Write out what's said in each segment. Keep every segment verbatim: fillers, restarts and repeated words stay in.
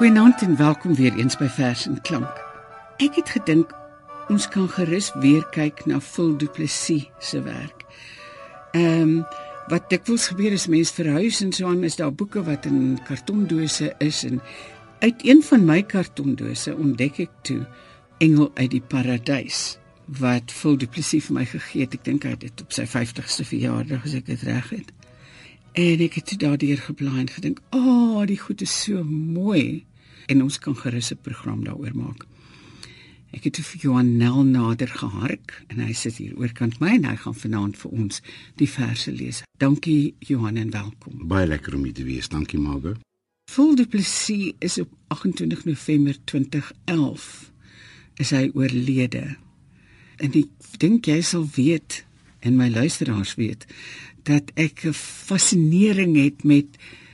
Goeienaand en welkom weer eens by Vers en Klank. Ek het gedink, ons kan gerus weer kyk na Phil Du Plessis se werk. Ehm, um, wat dikwels gebeur is, mense verhuis en so aan, is daar boeke wat in kartondose is, en uit een van my kartondose ontdek ek toe Engel uit die Paradys, wat Phil Du Plessis vir my gegee het. Ek dink hy het dit op sy vyftigste verjaardag, as ek dit reg het. En ek het toe daardeur geblaai en gedink, oh, die goed is so mooi, en ons kan gerus 'n program daaroor maak. Ek het toe vir Johan Nel nader gehark, en hy sit hier oorkant my, en hy gaan vanaand vir ons die verse lees. Dankie Johan en welkom. Baie lekker om hier te wees, dankie Margo. Phil Du Plessis is op agt-en-twintig November twintig elf, is hy oorlede. En ek dink jy sal weet, en my luisteraars weet, dat ek 'n fascinering het met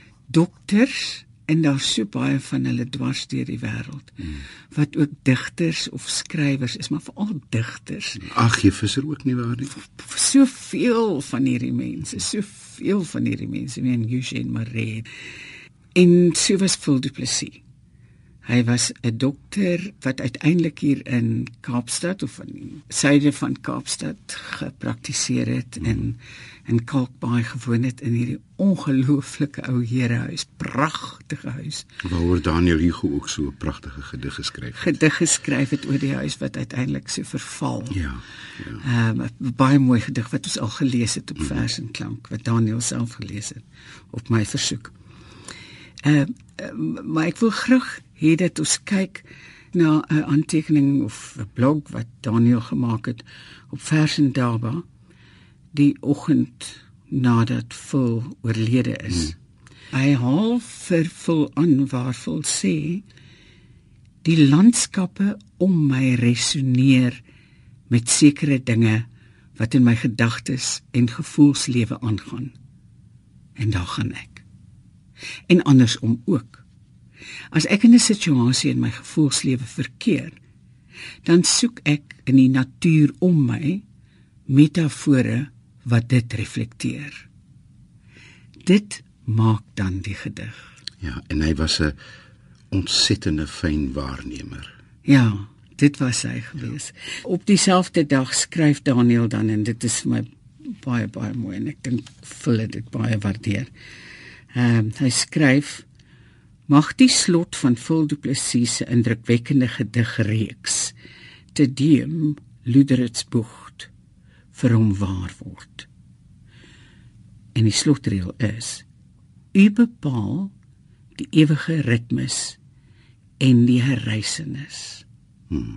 dokters, en daar so baie van hulle dwars deur die wêreld, hmm. wat ook digters of skrywers is, maar veral digters. Ag, jy Visser ook nie waar nie? Soveel van hierdie mense, soveel van hierdie mense, en Eugène Marais. En so was Phil Du Plessis. Hy was 'n dokter wat uiteindelik hier in Kaapstad, of in die suide van Kaapstad, gepraktiseer het, mm. en in Kalkbaai gewoon het, in hierdie ongelooflike ou herehuis, pragtige huis. Waaroor Daniel Hugo ook so 'n pragtige gedig geskryf het. Gedig geskryf het oor die huis wat uiteindelik so verval. Ja, ja. Um, 'n baie mooi gedig wat ons al gelees het op mm. Vers en Klank, wat Daniel self gelees het, op my versoek. Uh, uh, maar ek wil graag hê dat ons kyk na 'n aantekening of 'n blog wat Daniel gemaak het op Vers en Daba, die oggend nadat Phil oorlede is. Hmm. Hy haal vir Phil aan waar Phil sê, die landskappe om my resoneer met sekere dinge wat in my gedagtes en gevoelslewe aangaan. En daar gaan ek. En andersom ook. As ek in 'n situasie in my gevoelslewe verkeer, dan soek ek in die natuur om my metafore wat dit reflekteer. Dit maak dan die gedig. Ja, en hy was 'n ontsettende fyn waarnemer. Ja, dit was hy gewees. Ja. Op dieselfde dag skryf Daniel dan, en dit is vir my baie, baie mooi, en ek dink Phil dit baie waardeer. Um, hy skryf, mag die slot van Phil Du Plessis se indrukwekkende gedigreeks te Deum Luderitsbocht vir hom waar word. En die slotreël is, u bepaal die ewige ritmes en die herreisenis. Hmm.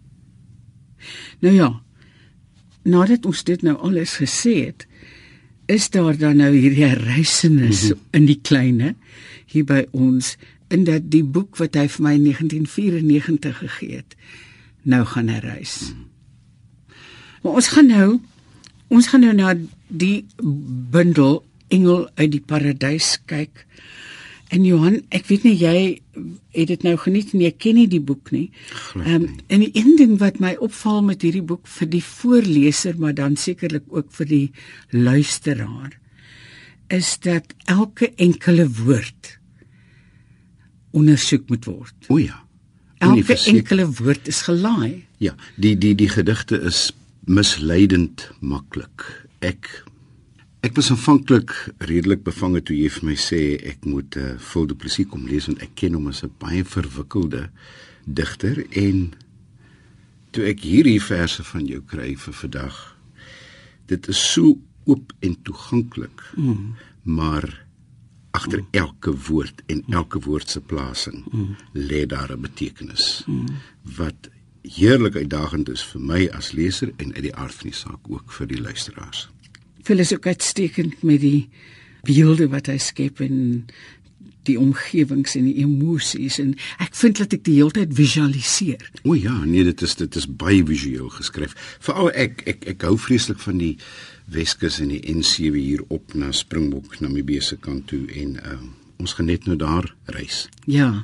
Nou ja, nadat ons dit nou alles gesê het, is daar dan nou hierdie herreisenis mm-hmm. in die kleine, hier by ons, in dat die boek wat hy vir my in negentien vyfennegentig gegee het, nou gaan herreis. Mm. Maar ons gaan nou, ons gaan nou na die bundel Engel uit die Paradys kyk. En Johan, ek weet nie, jy het dit nou geniet en jy ken nie die boek nie. Um, en die een ding wat my opval met hierdie boek vir die voorleser, maar dan sekerlik ook vir die luisteraar, is dat elke enkele woord ondersoek moet word. O ja. Elke enkele woord is gelaai. Ja, die, die, die gedigte is misleidend maklik. Ek Ek was aanvanklik redelik bevange toe jy vir my sê ek moet uh, Phil Du Plessis kom lees, want ek ken hom as 'n baie verwikkelde digter, en toe ek hierdie verse van jou kry vir vandag, dit is so oop en toeganklik, mm. maar agter mm. elke woord en elke woord se plasing mm. lê daar 'n betekenis, mm. wat heerlik uitdagend is vir my as leser en uit die aard van die saak ook vir die luisteraars. Phil is ook uitstekend met die beelde wat hy skep en die omgewings en die emosies, en ek vind dat ek die hele tyd visualiseer. O ja, nee, dit is dit is baie visueel geskryf. Veral ek ek ek hou vreeslik van die Weskus en die N sewe hier op na Springbok, Namibië se kant toe, en uh, ons gaan net nou daar reis. Ja.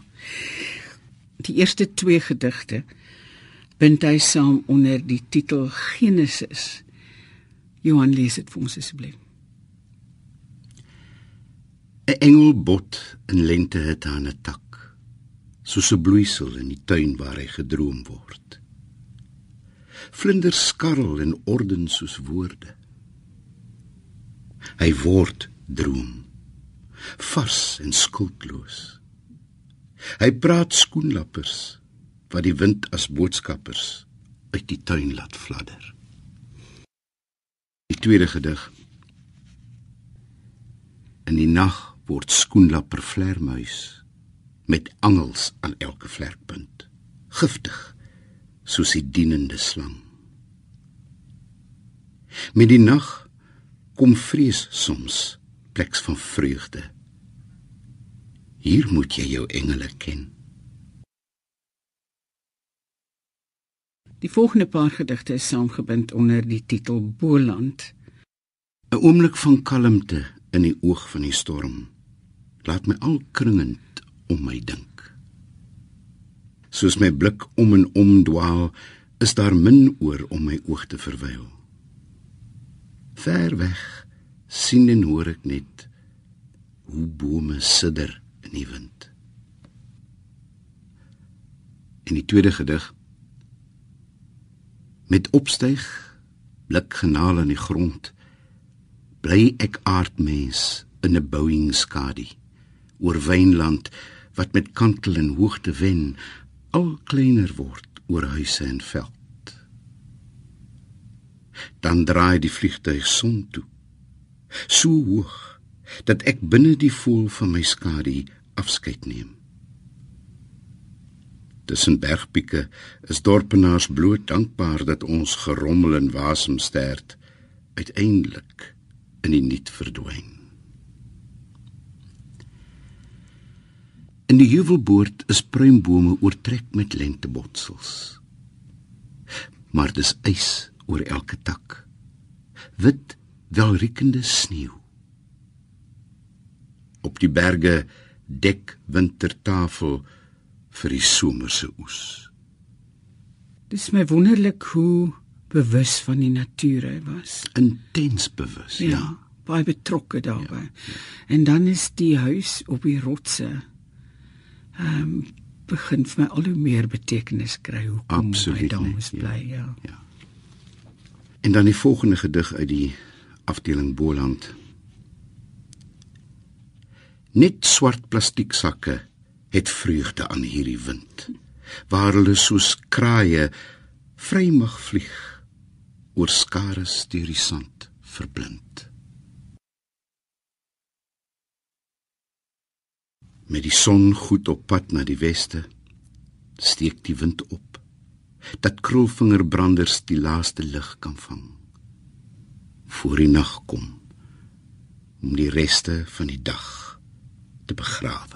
Die eerste twee gedigte bind hy saam onder die titel Genesis. Johan, lees het vir ons asseblief. 'n Engel bot in lente het aan 'n tak. soos 'n bloeisel in die tuin waar hy gedroom word. Vlinders skarrel en orden soos woorde. Hy word droom, vars en skuldloos. Hy praat skoenlappers, wat die wind as boodskappers uit die tuin laat fladder. Die tweede gedig. In die nag word skoenlapper vlermuis, met angels aan elke vlerkpunt, giftig, soos die dienende slang. Met die nag kom vrees soms, pleks van vreugde. Hier moet jy jou engele ken. Die volgende paar gedigte is saamgebind onder die titel Boland. 'n Oomblik van kalmte in die oog van die storm, laat my al kringend om my dink. Soos my blik om en om dwaal, is daar min oor om my oog te verwyl. Ver weg sien en hoor ek net hoe bome sidder in die wind. In die tweede gedig. Met opstyg, blik genaal in die grond, bly ek aardmens in 'n bouingskadie, oor wynland wat met kantel en hoogte wen, al kleiner word oor huise en veld. Dan draai die vliegtuig son toe, so hoog, dat ek binne die voel van my skadie afskeid neem. Tussen bergpieke is dorpenaars bloot dankbaar dat ons gerommel en wasem stert, uiteindelik in die niet verdwyn. In die heuvelboord is pruimbome oortrek met lentebotsels. Maar dis ys oor elke tak, wit, welriekende sneeuw. Op die berge dek wintertafel vir die somerse oes. Dis my wonderlik hoe bewus van die natuur hy was. Intens bewus, ja. Ja, baie betrokke daarbij. Ja, ja. En dan is die huis op die rotse, um, begin vir my al hoe meer betekenis kry, hoe kom hy daar moes bly, ja. ja. ja. En dan die volgende gedig uit die afdeling Boland. Net swart plastieksakke het vreugde aan hierdie wind, waar hulle soos kraaie vry mag vlieg, oor skares deur die sand verblind. Met die son goed op pad na die weste, steek die wind op, dat krulvingerbranders die laaste lig kan vang. Voor die nag kom, om die reste van die dag te begrawe.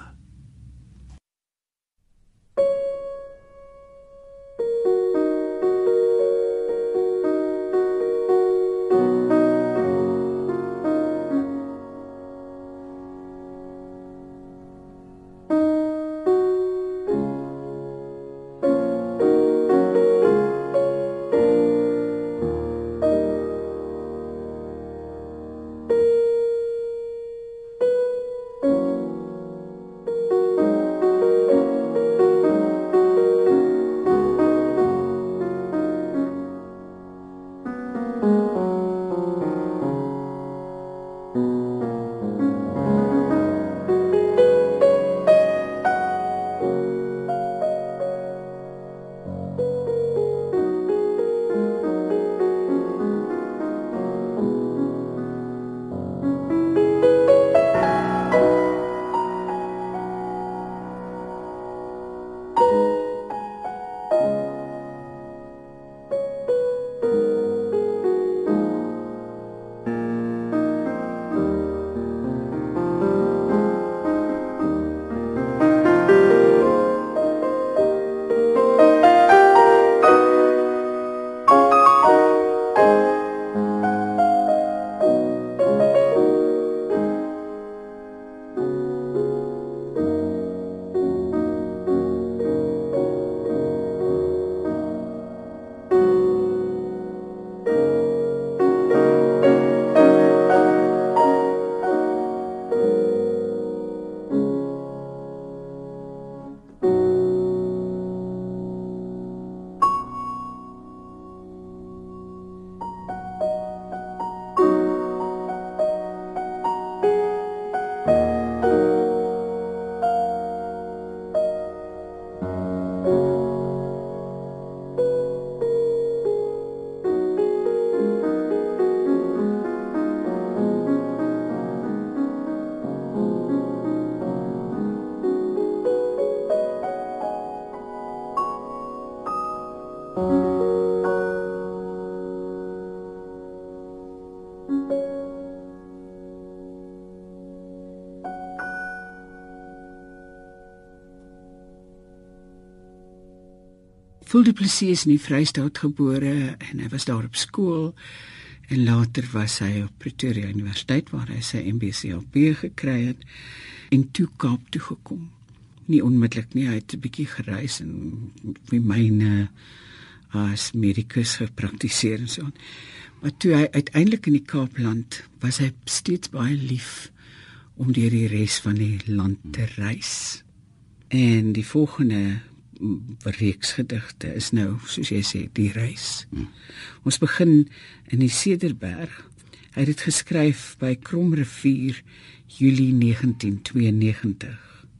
Phil du Plessis is in die Vrystaat gebore en hy was daar op skool en later was hy op Pretoria Universiteit waar hy sy M B C L B gekry het en toe Kaap toe gekom. Nie onmiddellik nie, hy het 'n bietjie gereis en die myne as medikus gepraktiseer en so aan. Maar toe hy uiteindelik in die Kaapland was hy steeds baie lief om deur die res van die land te reis. En die volgende reeks gedigte is nou, soos jy sê, die reis. Hmm. Ons begin in die Cederberg. Hy het dit geskryf by Kromrivier, Julie negentien tweeënnegentig.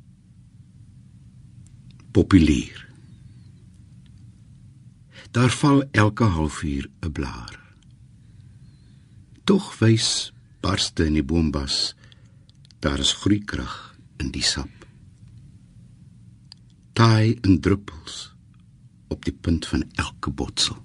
Populier. Daar val elke halfuur 'n blaar. Tog wys barste in die boombas, daar is groeikrag in die sap. Taai in druppels op die punt van elke botsel.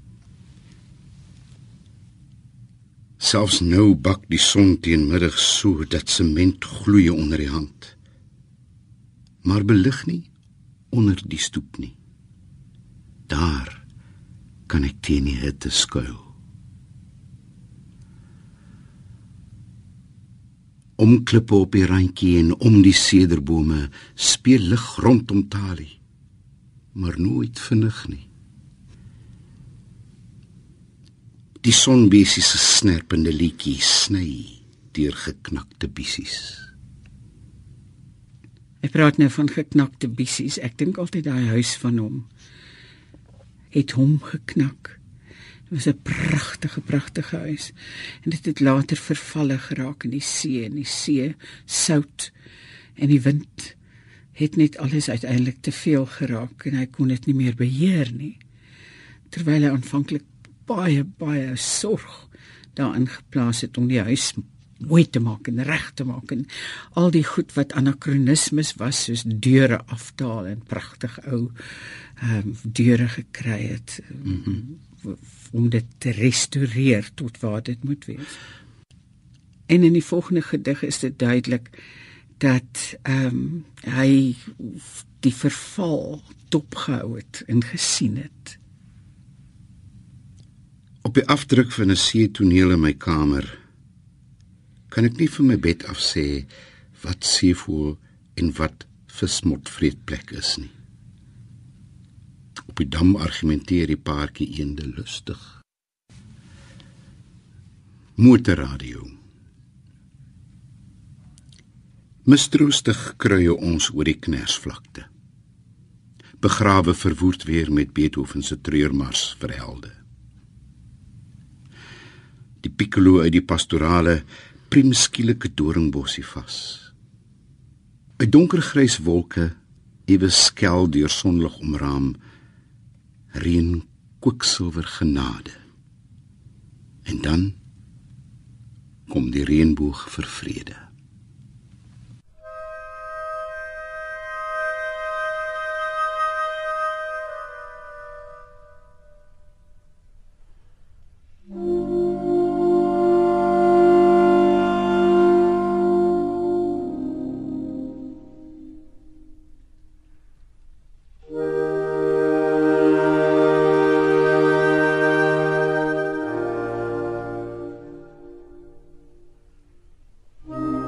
Selfs nou bak die son teen middag so dat sement gloei onder die hand. Maar belig nie onder die stoep nie. Daar kan ek teen die hitte skuil. Om klippe op die randjie en om die sederbome speel lig rondom Tali, maar nooit vinnig nie. Die sonbesie se snerpende liedjie sny deur geknakte bissies. Ek praat nou van geknakte bissies. Ek dink altyd daai huis van hom het hom geknak. Dit was 'n pragtige, pragtige huis. En dit het later vervalle geraak in die see, en die see sout, en die wind het net alles uiteindelik te veel geraak, en hy kon dit nie meer beheer nie. Terwyl hy aanvanklik baie, baie sorg daarin geplaas het om die huis mooi te maak en reg te maak, en al die goed wat anachronismes was, soos deure aftaal en pragtig ou um, deure gekry het, mm-hmm. om dit te restaureer tot waar dit moet wees. En in die volgende gedig is dit duidelik dat um, hy die verval dopgehou het en gesien het. Op die afdruk van 'n seetoneel in my kamer kan ek nie van my bed af sê wat seevoël en wat vismotvreetplek is nie. Op die dam argumenteer die paartjie eende lustig. Motorradio. Mistroostig kruie ons oor die knersvlakte. Begrawe verwoerd weer met Beethoven se treurmars vir helde. Die piccolo uit die pastorale priem skielike doringbossie vas. Uit donkergrys wolke, ewe skel deur sonlig omraam, reën kwiksilwer genade. En dan kom die reënboog vir vrede. Thank you.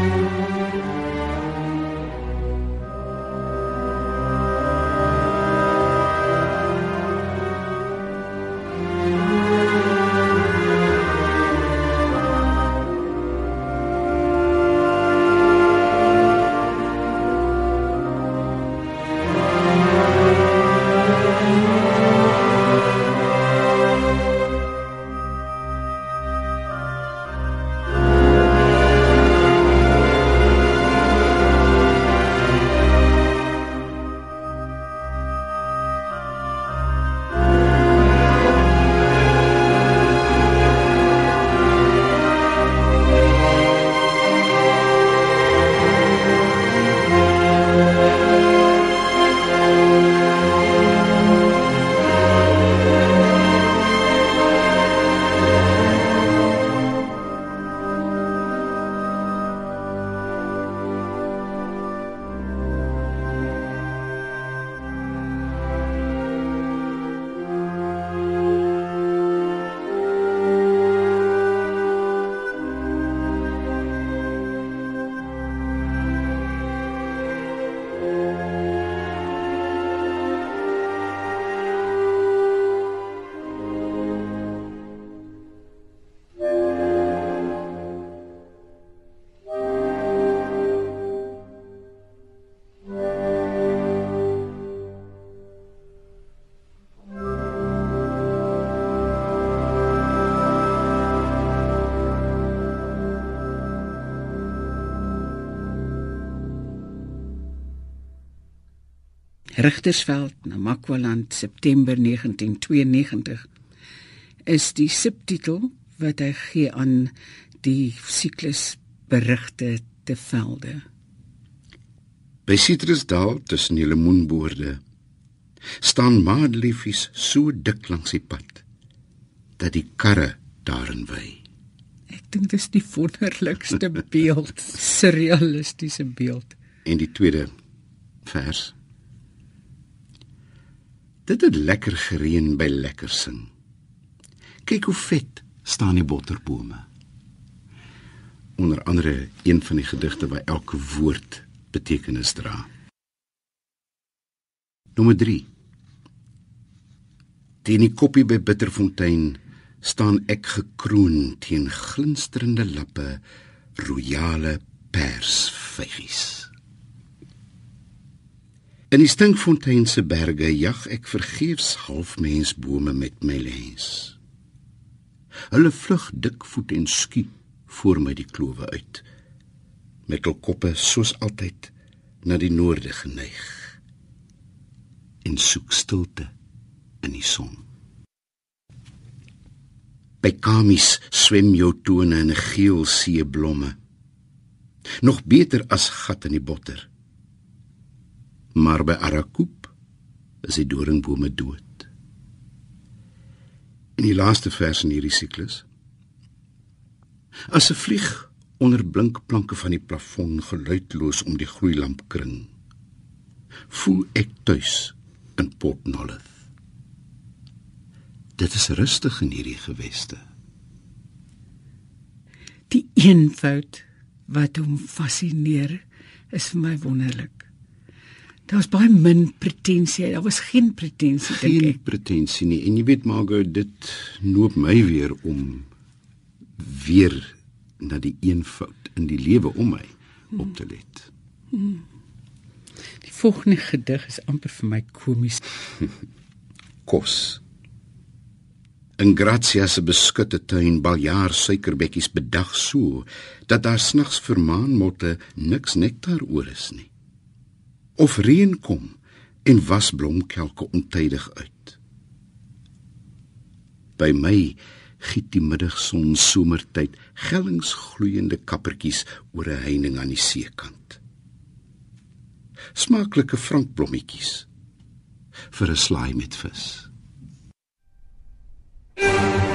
Richtersveld, Namakwaland, September negentien tweeënnegentig, is die subtitel wat hy gee aan die siklus Berigte te Velde. By Citrusdal tussen die lemoenboorde staan madeliefies so dik langs die pad dat die karre daarin wy. Ek dink dit is die wonderlikste beeld, surrealistiese beeld. En die tweede vers. Dit het lekker gereën by lekker sing. Kyk hoe vet staan die botterbome. Onder andere een van die gedigte waar elke woord betekenis dra. Nommer drie. Teen die koppie by Bitterfontein staan ek gekroon teen glinsterende lappe, royale persvygies. In die Stinkfonteinse berge jag ek vergeefs halfmensbome met my lens. Hulle vlug dikvoet en skiet voor my die klowe uit, met hul koppe soos altyd na die noorde geneig, en soek stilte in die son. By Kamies swem jou tone in 'n geel see blomme, nog beter as gat in die botter. Maar by Arakoop is die doringbome dood. In die laaste vers in hierdie siklus, as 'n vlieg onder blinkplanke van die plafon geluidloos om die gloeilamp kring, voel ek tuis in Port Nolloth. Dit is rustig in hierdie geweste. Die eenvoud wat hom fascineer, is vir my wonderlik. Daar was baie min pretensie, daar was geen pretensie, dink Geen ek. pretensie nie, en jy weet Margot, dit noop my weer om weer na die eenvoud in die lewe om my op te let. Die volgende gedig is amper vir my komies. Kos. In Gratia se beskutte tuin baljaar suikerbekkies bedag so, dat daar s'nags vir maanmotte niks nektar oor is nie. Of reën kom en was blomkelke ontydig uit. By my giet die middagson somertyd gellingsgloeiende kappertjies oor 'n heining aan die seekant. Smaaklike frankblommetjies vir 'n slaai met vis.